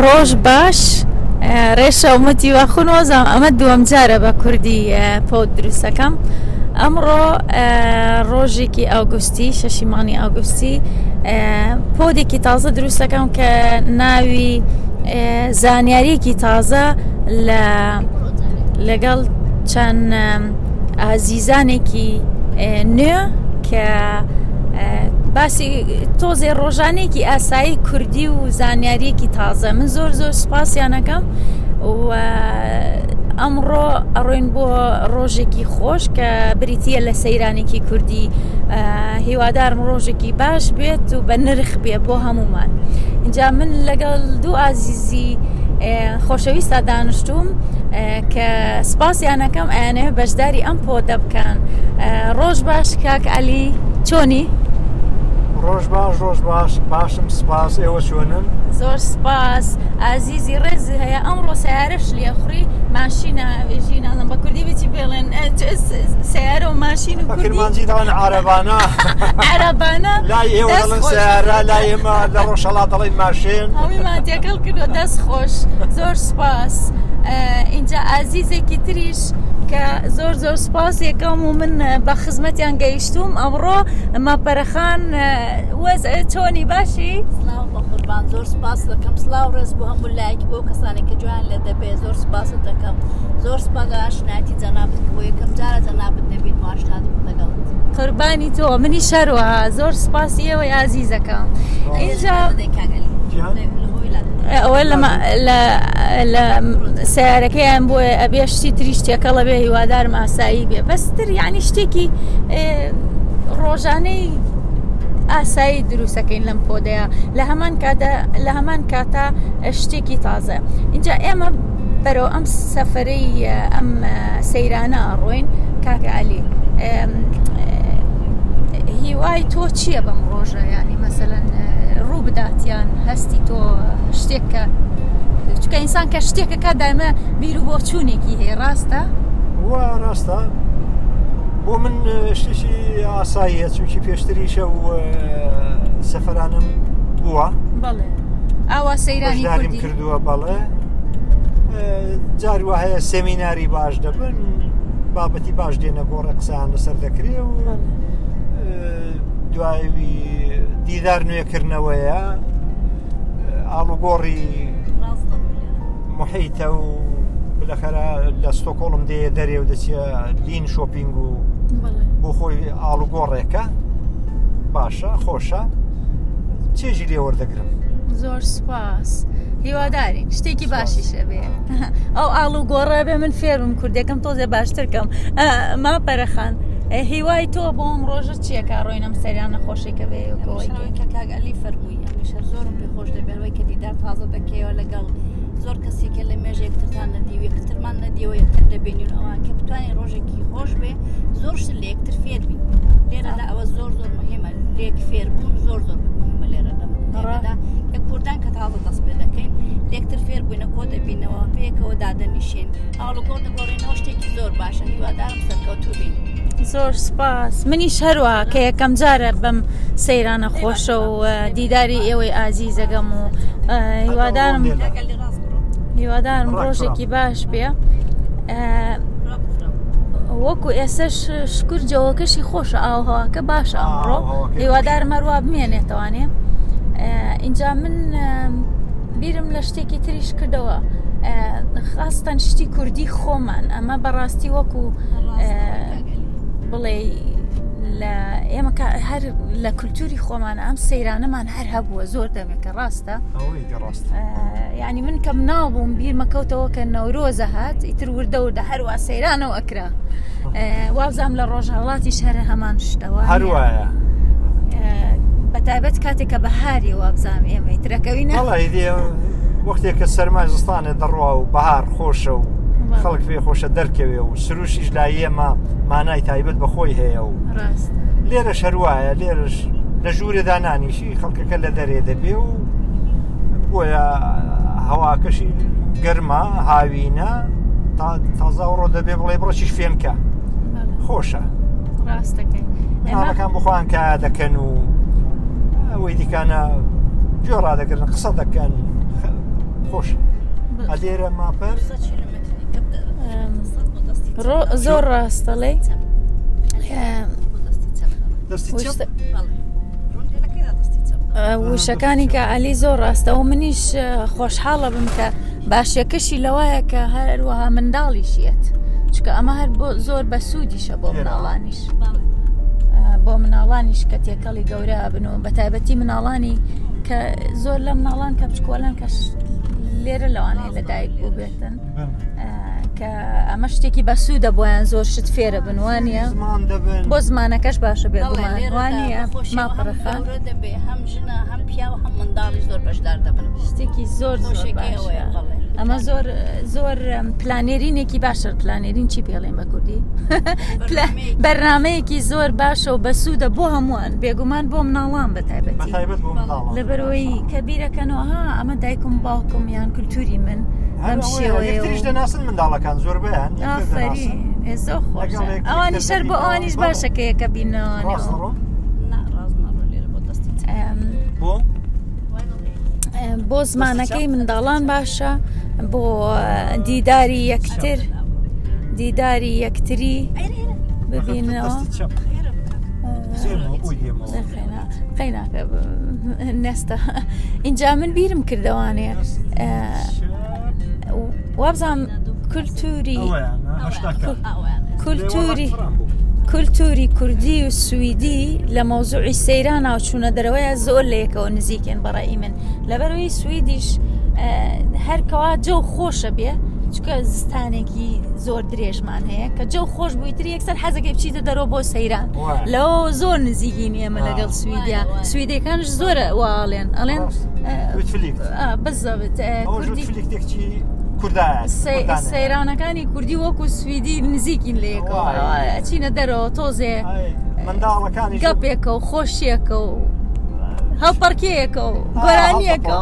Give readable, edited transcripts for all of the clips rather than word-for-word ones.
ڕۆژ باش ڕێشە ومەتی واخونۆزم ئەمە دووەم جارە بە کوردی پۆت دروستەکەم. ئەمڕۆ ڕۆژێکی ئاگوستی شەشیمانی ئاگوستی پۆدێکی تازە دروستەکەم کە ناوی زانیاریەکی تازە لەگەڵ چەند ئازیزانێکی نوێ کە باسی تۆزێ ڕۆژانێکی ئاسایی کوردی و زانیاریەکی تازە. من زۆر سوپاسیانەکەم و ئەمڕۆ ئەڕۆین بۆ ڕۆژێکی خۆش کە بریتە لە سەیرانێکی کوردی. هیوادارم ڕۆژێکی باش بێت و بە نرخ بێ بۆ هەمومان. اینجا من لەگەڵ دوو ئازیزی خۆشەویستە دانیشتوم کە سپاسیانەکەم ئەیانێ بەشداری ئەم پۆدە بکەن. ڕۆژ باش کاک عەلی، چۆنی؟ ڕۆژ باش باشم، سپاس. ئێوە چۆنن؟ زۆر سپاس. ئازیزی ڕێزی هەیە ئەمڕۆ سیارەش لێخوڕی ماشینە وێژی نازم بە کوردی بچی بێڵێن سیارە و ماشین و کوردی داوان عەرەبانە لای ئێوە دەڵێن سیارە، لای ئێمە لە ڕۆژهەڵات دەڵێن ماشین. هەموویمان تێکەڵ کردو. دەست خۆش، زۆر سپاس. اینجا ئازیزێکی تریش کە زۆر سپاس یەکەم و من بە خزمەتیان گەیشتوم ئەمڕۆ. ماپەرەخان چۆنی باشی؟ سلااو بە قوربان، زۆر سپاس دەکەم. سلااو ڕێز بۆ هەموو لایەکی بۆ کەسانێک کە جوان لە دەبێ. زۆر سپاست دەکەم. زۆر سپاس لە ئاشنایەتی جەنابەت بۆ یەکەم جارە جەنابەت دەبین و ئاشنایی لەگەڵت. قوربانی تۆ، منی شەروە. زۆر سپاسی ئێوەی ئازیزەکەم. ئینجا ئەوە لە سیارەکەیان بۆ ئەبێ شتی تری شتێکەڵە بێ، هیوادارم ئاسایی بێ. بەستر یعنی شتێکی ڕۆژانەی ئاسایی دروستەکەین لەم پۆدەیە لە هەمان کاتە شتێکی تازە. اینجا ئێمە بەرەو ئەم سەفەرەی ئەم سەیرانە ئەڕۆین. کاک عەلی، هیوای تۆ چییە بەم ڕۆژە؟ ینی مەسەلەن ڕوو بداتیان هەستی تۆ شتێکە چکە ئینسان کە شتێکە کا دایمە بیر و بۆ چوونێکی هەیە، ڕاستە؟ وە ڕاستە. بۆ من شتێکی ئاساییە چونکی پێشتریشە و سەفەرانم بووە. بەڵێ ئاوا سەیرانی کوردی کردووە. بەڵێ جاری وهەیە سێمیناری باش دەبن، بابەتی باش دێنە گۆڕە قسەیان لەسەر دەکرێ و دوایوی دیدار نوێکردنەوەیە ئاڵوگۆڕی محیتە و بالاخره لە ستۆکۆڵم دێ دەرێ و دەچێ لین شۆپینگ و بۆ خۆی ئاڵوگۆڕێکە باشە، خۆشە، چێژی لێ وەردەگرم. زۆر سپاس. هیوادارین شتێکی باشیشە بێ. ئەو ئاڵوگۆڕە بێ من فێرم کوردەکەم تۆزێ باشترکەم. ماپەرەخان، هیوای تۆ بۆ ئەم ڕۆژە چیەکە ڕۆینەم سەریان نەخۆشێکە بێەوەی کە کاک عەلی فەرمووی ئەمیشە زۆرم پێ خۆش دەبێتەوەی کە دیدار تازە دەکەیەوە لەگەڵ زۆر کەسێکە لە مێژە یەکترتان نەدیوە، یەکترمان نەدیەوە، یەکتر دەبینین ئەوان کە بتوانین ڕۆژێکی خۆش بێ، زۆر شت لە یەکتر فێر بین. لێرەدا ئەوە زۆر مهمە، لێک فێربوون زۆر مهمە لێرە لەمەدا کە کوردان کە تازە دەست پێ دەکەین لێکتر فێر بووینە کۆ دەبینەوە، پێکەوە دادەنیشێن، ئاڵوگۆڕ دەگۆڕینەوە، شتێکی زۆر باشە. هیوادارم سەرکەوتوو بین. زۆر سپاس. منیش هەروە کە یەکەم جارە بەم سەیرانە خۆشە و دیداری ئێوەی ئازیزەکەم و هیوادارم ڕۆژێکی باش بێ. وەکو ئێسەش شکر جەوەکەشی خۆشە، ئاوهەواکە باشە ئەمڕۆ، هیوادارم هەروە بمێنێتەوانێ. اینجا من بیرم لە شتێکی تریش کردەوە، خاستەن شتی کوردی خۆمان. ئەمە بەڕاستی وەکو بڵێ ئێمە هەر لە کولتوری خۆمانە ئەم سەیرانەمان هەر هەبووە زۆر دەمێکە. ڕاستە؟ یعنی من کەم نابووم بیرمەکەوتەوە کە نەورۆزە هات ئیتر وردە هەروە سەیرانەوە ئەکرا. وابزانام لە ڕۆژهەڵاتی شەرە هەمان شتەوە هەروایە، بەتایبەت کاتێککە بەهاری وابزانام ئێمە ئیترەکەوینە وەختێک کە سەرمای زستانێ دەڕوا و بەهار خۆشە و خەڵک پێ خۆشە دەرکەوێ و سروشیش لای ئێمە مانای تایبەت بەخۆی هەیە و لێرەش هەروایە. لێرەش لە ژوورێدا نانیشی خەڵکەکە لە دەرێ دەبێ و بۆیە هەواکەشی گەرمە، هاوینە، تازە ڕۆ دەبێ بڵێ بڕۆچیش فێمکە، خۆشە. ڕاستەکەی مناڵەکان بخۆیان کە دەکەن و ئەوەی دیکانە گوێ ڕادەگرن، قسە دەکەن، خۆش ئەلێرە ماپەر زۆر ڕاستەڵێ وشەکانی کە عەلی زۆر ڕاستەوە منیش خۆشحاڵە بم کە باشیەکەشی لەوایە کە هەروەها منداڵیشیێت چکە ئەمە هەر بۆ زۆر بە سوودیشە بۆ مناڵانیش بۆ مناڵانیش کە تێکەڵی گەورە بنەوە بە تایبەتی مناڵانی کە زۆر لە مناڵان کە بچکۆلان کە لێرە لەوانەیە لەدایک بوو بێتن کە ئەمە شتێکی بە سوودە بۆیان زۆر شت فێرە بنوانە بۆ زمانەکەش باشە بێگومانوانە ماپەڕەخان هەم ژنە هەم پیا و هەم منداڵی زۆر بەشدار دەبن شتێکی زۆر ئەمە زۆر پلانێرینێکی باشە پلانێرین چی پێڵێن بە کوردی بەرنامەیەکی زۆر باشە و بە سوودە بۆ هەمووان بێگومان بۆ مناڵان بە تایبەتی لەبەرەوەی کە بیرەکەنەوە ئەمە دایکم باوکم یان کولتوری من ئەم شێوەیە دەناسن منداڵەکان زۆر بەیان زۆر خۆش ئەوانی شەر بۆ ئەوانیش باشە کە یەکە بینەوە بۆ زمانەکەی منداڵان باشە بۆ دیداری یەکتری ببینەوە خەیناکە نێستە اینجا من بیرم کردەوانێ وابزانم کولتوری کوردی و سویدی لە مۆزوعی سەیران ناوچوونە دەرەوەیە زۆر لەیەکەوە نزیکێن بەڕێی من لەبەرەوەی سویدیش هەرکەوا جەو خۆشە بێ چکە زستانێکی زۆر درێژمان هەیە کە جەو خۆش بوویتر یەکسەر حەزەکەی بچیتە دەرەوە بۆ سەیران لەوە زۆر نزیکین ئێمە لەگەڵ سویدیا سویدەکانش زۆرە واڵێن ئەڵێن بزەبت سەیرانەکانی کوردی وەکو سویدی نزیکین لەیەکەوە ئەچینە دەرەوە تۆزێ گەپێکە و خۆشیەکە و هەڵپەرکەیەکە و گۆرانیەکە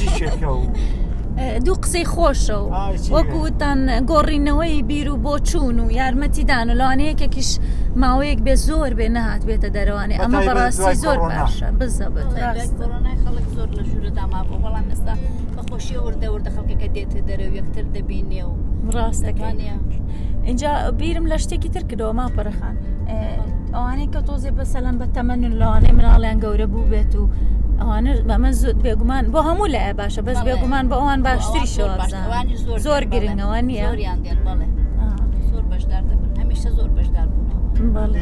دوو قسەی خۆشە و وەکوتان گۆڕینەوەی بیر و بۆ چوون و یارمەتیدان و لەوانەیەکێکیش ماوەیەک بێ زۆر بێ نەهات بێتە دەرەوانێ ئەمە بەڕاستی زۆر باشە بزەبت کۆرۆنای خەڵک زۆر لە ژوورەدا مابوو بەڵام ئێستا بەخۆشیە وردە خەڵکەکە دێتە دەرەوە یەکتر دەبینێ و ڕاستەکانە اینجا بیرم لە شتێکی تر کردەوە ماپەرەخان ئەوانەی کە تۆزێ بەسەلەن بە تەمەنن لەوانەی مناڵیان گەورە بوو بێت و ئەوانە ئەمە زۆر بێگومان بۆ هەموو لایە باشە بەس بێگومان بە ئەوان باشتری شەوازان زۆر گرنگەوە نییە زۆر بەشدار دەبن هەمیشە زۆر بەشدار بوون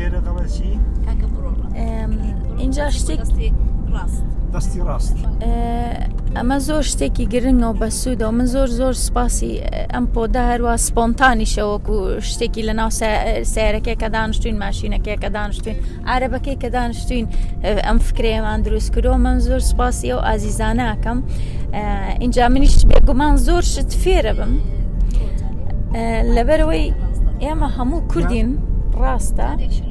اینجا شتێکی ڕاست دەستی ڕاست ئەمە زۆر شتێکی گرنگە و بەسوودە و من زۆر سپاسی ئەم پۆدا هەروە سپۆنتانیشەوەکو شتێکی لە ناو سیارەکەی کە دانیشتوین ماشینەکەی کە دانیشتوین عارەبەکەی کە دانیشتوین ئەم فکرێمان دروست کردەوە من زۆر سپاسی ئەو ئازیزانەکەم اینجا منیش بێگومان زۆر شت فێرە بم لەبەرەوەی ئێمە هەموو کوردین ڕاستە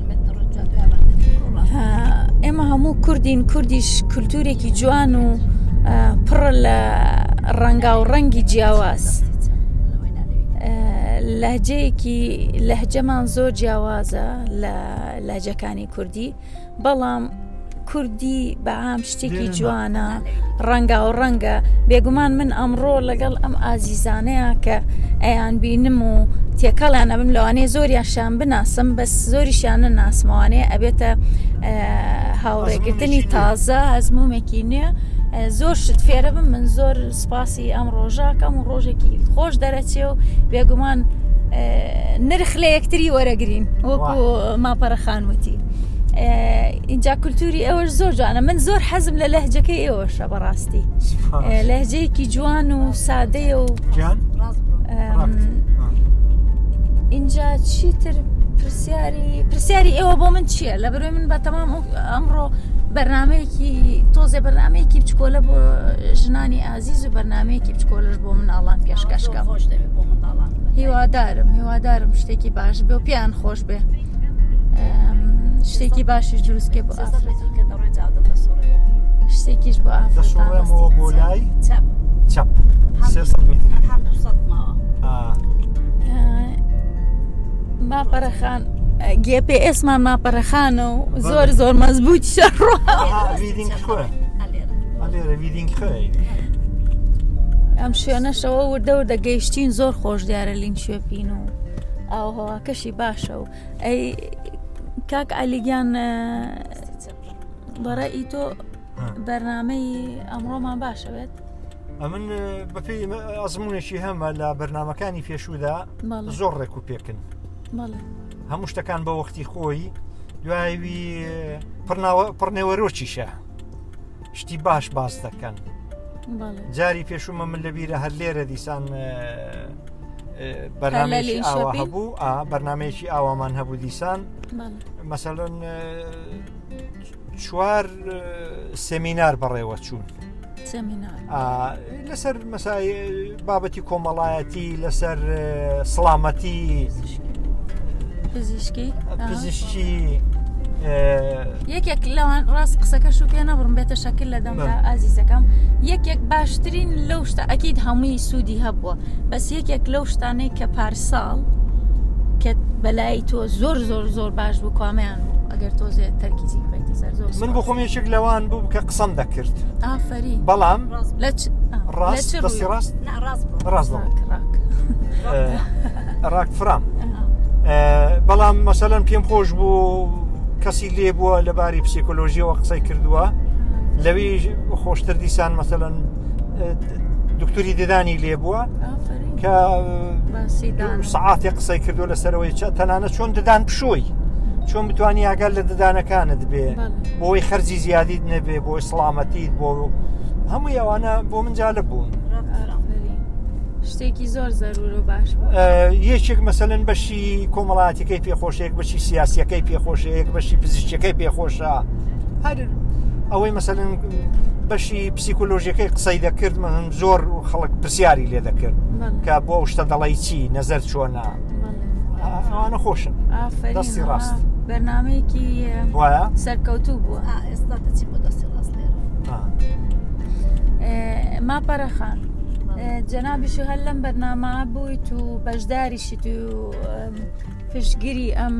ئێمە هەموو کوردیش کولتورێکی جوان و پڕ لە ڕەنگا و ڕەنگی جیاواز لەهجەمان زۆر جیاوازە لە لەهجەکانی کوردی بەڵام کوردی بەعام شتێکی جوانە ڕەنگا و ڕەنگە بێگومان من ئەمڕۆ لەگەڵ ئەم ئازیزانەیە کە ئەیان بینم و تێکەڵیان ئەبم لەوانەیە زۆریاشان بناسم بەس زۆریشیان نەناسمەوانەیە ئەبێتە هاوڕێگرتنی تازە ئەزمومێکی نوێ زۆر شت فێرە بم من زۆر سپاسی ئەم ڕۆژاکەم و ڕۆژێکی خۆش دەرەچێ و بێگومان نرخ لە یەکتری وەرەگرین وەکو ماپەرەخانوتی اینجا کولتوری ئێوەش زۆر جوانە من زۆر حەزم لە لەهجەکەی ئێوەشە بەڕاستی لەهجەیەکی جوان و سادەیە و اینجا چیتر پرسیاری ئێوە بۆ من چییە لە بەروی من بە تەمام ئەمڕۆ بەرنمەیەکی تۆزێ بەرنمەیەکی بچکۆلە بۆ ژنانی ئازیز و بەرنمەیەکی بچکۆلەش بۆ مناڵان پێشکەشکەم هیوادارم شتێکی باش بێ و پیان خۆش بێ شتێکی باشیش دروستکێ بۆ شتێکیش بۆ دەسوڕێمەوە بۆ لای چەپ ماپەرەخان GPS-مان ماپەرەخانە و زۆر مەزبوط ئەم شوێنەشەوە وردە وردە گەیشتین زۆر خۆش دیارە لین شوێپین و ئاوهەواکەشی باشە و ئەی کاک عەلیگیان بەڕێی تۆ بەرنامەی ئەمڕۆمان باشەوێت؟ ئەمن بەپێی ئەزمونێکی هەمە لە بەرنامەکانی پێشوودا زۆر ڕێک و پێکن هەموو شتەکان بە وەختی خۆی دوایوی پڕنێوەرۆکیشە شتی باش باز دەکەن جاری پێشومە من لەبیرە هەر لێرە دیسان بەرنامەیەکی ئاوا هەبوو بەرنمەیەکی ئاوامان هەبوو دیسان مەسەڵەن 4 سێمینار بەڕێوە چوون لەسەر مەسای بابەتی کۆمەڵایەتی لەسەر سڵامەتی پزیشکی یەکێک لەوان ڕاست قسەکەش و پێ نەبڕم بێتە شەکل لە دەمدا ئازیزەکەم یەکێک باشترین لەو شتە ئەکید هەمووی سوودی هەبووە بەس یەکێک لەو شتانەی کە پارساڵ کە بەلای تۆ زۆر زۆر زۆر باش بوو کامیان بوو ئەگەر تۆزێ تەرکیزی بکەیتە سەر زۆر من بۆ خۆم یەکێک لەوان بوو کە قسەم دەکرد ئافرین بەڵام ڕاست دەستی ڕاست ڕاک فرام بەڵام مەسەلەن پێم خۆش بوو کەسی لێ بووە لەباری پسیکۆلۆژیەوە قسەی کردووە لەوی خۆشتر دیسان مەسەلەن دکتوری ددانی لێ بووە کە سەعاتی قسەی کردو لەسەرەوەی تەنانە چۆن ددان پشۆی چۆن بتوانی ئاگەر لە ددانەکانت بێ بۆی خەرجی زیادیت نەبێ بۆی سڵامەتیت بۆ هەمووی ئەوانە بۆ من جالب بوون شتێکی زۆر زەرور و باش یەکێک مەسەلەن بەشی کۆمەڵایەتەکەی پێخۆشەیەک بەشی سیاسیەکەی پێخۆشەیەک بەشی پزیشکەکەی پێخۆشە هەر ئەوەی مەسەلەن بەشی پسیکۆلۆژیەکەی قسەی دەکرد من زۆر خەڵک پرسیاری لێ دەکرد کە بۆ شتە دەڵی چی نەزەر چۆنە ئەوانە خۆشن دەستی ڕاست بەرنامەیەکی وایە سەرکەوتوو بووە ئێستا دەچی بۆ دەستی ڕاست لێرە ماپەرەخان جەنابیشو هەر لەم بەرنامە بوویت و بەشداریشیت و پشتگیری ئەم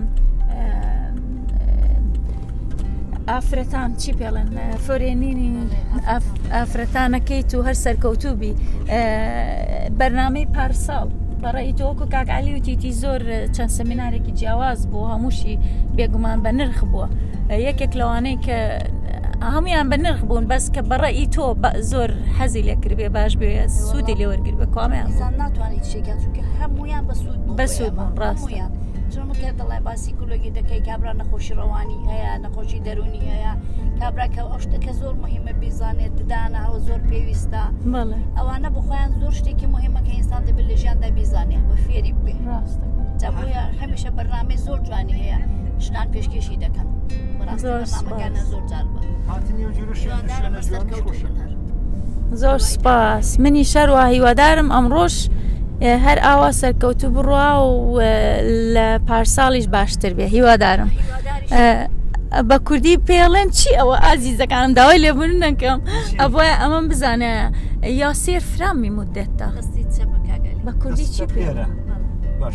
ئافرەتان چی پێڵێن فۆرێنینی ئافرەتانەکەیت و هەر سەرکەوتوبی بەرنامەی پارساڵ بەڕێی تۆکو کاک عەلی وتیتی زۆر چەند سەمینارێکی جیاواز بوو هەمووشی بێگومان بە نرخ بووە یەکێک لەوانەی کە هەمویان بە نرخ بوون بەس کە بەڕێی تۆ زۆر حەزی لێکرد بێ باش بێ سوودی لێ وەرگر بە کامیان ناتوانیت شێکات چونکە هەمویان بە سوود بوون ڕاستیان چۆنکە دەڵێ باسی کولۆگی دەکەی کابرا نەخۆشی ڕەوانی هەیە نەخۆشی دەرونی هەیە کابراکە ئەو شتەکە زۆر مهمە بیزانێت ددانە ئەو زۆر پێویستە ئەوانە بخۆیان زۆر شتێکی مهمەکە ئینسان دەبێت لە ژیاندا بیزانێ بە فێری بێ جابووە هەمیشە بەرنامەی زۆر جوانی هەیە ژنان پێشکەشی دەکەن بەڕاستیانەکانە زۆر جار بە زۆر سپاس منی شەروە هیوادارم ئەمڕۆژ هەر ئاوا سەرکەوتو بڕوا و لە پارساڵیش باشتر بێ هیوادارم بە کوردی پێڵێن چی ئەوە ئازیزەکانم داوای لێبوون نەکەم ئەوە ئەمەم بزانە یاسێر فرامی مدەتە بە کوردی چی پێڵە باش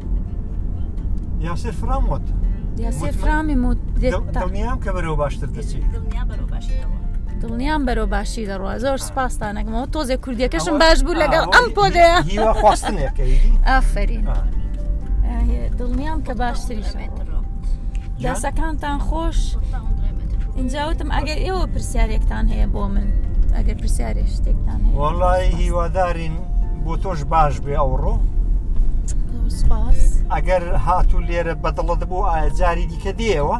یاسێر فرام وت یاسێر فرامی مدەتە دڵنیام کە بەرەوە باشتر دەچێت دڵنیام بەرەو باشی دەڕوە زۆر سپاسانەکەمەوە تۆزێ کوردیەکەشم باش بوو لەگەڵ ئەم پۆدەیە هیوا خواستنێکەی ئافرین دڵنیام کە باشتریشە دەسەکانتان خۆش اینجاوتم ئەگەر ئێوە پرسیارێکتان هەیە بۆ من ئەگەر پرسیارێک شتێکتان هەیە وەڵای هیوادارین بۆ تۆش باش بێ ئەوڕۆ سپاس ئەگەر هاتوو لێرە بەدڵت بوو ئایا جاری دیکە دێەوە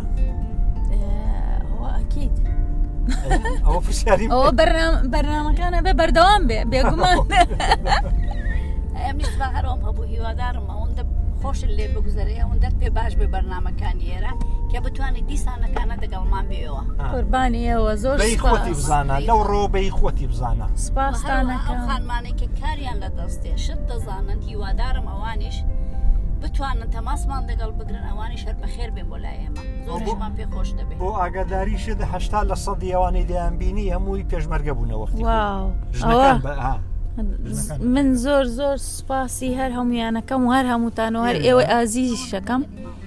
ئەکید ئەوە پرسیاری ئەوە بەرنامەکانە بێ بەردەوام بێ بێگومان ئەمیش بە هەرۆم هەبوو هیوادارم ئەوەندە خۆشت لێ بگوزەرێ ئەوەندەت پێ باش بێ بەرنامەکانی ئێرە کە بتوانێت دیسانەکانە دەگەڵمان بێەوە قوربانی ئێوە زۆر خۆتی بزانە لەو ڕۆبەی خۆتی بزانە سپاسانەکەم خانمانێکە کاریان لە دەستێ شت دەزانن هیوادارم ئەوانیش بتوانن تەماسمان دەگەڵ بگرن ئەوانی شەر بەخێر بێ بۆ لای ئێمە زۆرشمان پێ خۆش دەبێت بۆ ئاگاداریشت 80% ئەوانەی دەیانبینی هەمووی پێشمەرگە بوونەوەختی من زۆر زۆر سپاسی هەر هەمویانەکەم و هەر هەمووتانەوە هەر ئێوە ئازیزیشەکەم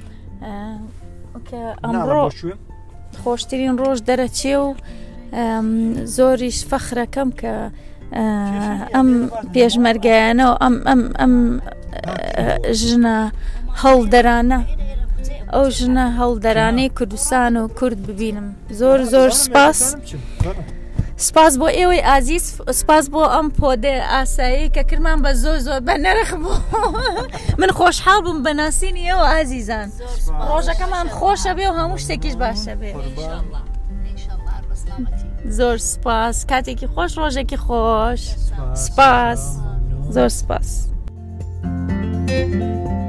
کە ئەمڕۆ خۆشترین ڕۆژ دەرەچێ و زۆریش فەخرەکەم کە ئەم پێشمەرگایانە و ئەم ژنە هەڵدەرانە ئەو ژنە هەڵدەرانەی کوردستان و کورد ببینم. زۆر زۆر سپاس. سپاس بۆ ئێوەی ئازیز، سپاس بۆ ئەم پۆدە ئاسایی کە کرمان بە زۆر زۆر بە نەرخ بوو. من خۆشحاڵ بووم بە ناسینی ئێوە ئازیزان. ڕۆژەکەمان خۆشە بێ و هەموو شتێکیش باشە بێ. زۆر سپاس، کاتێکی خۆش، ڕۆژێکی خۆش. سپاس، زۆر سپاس.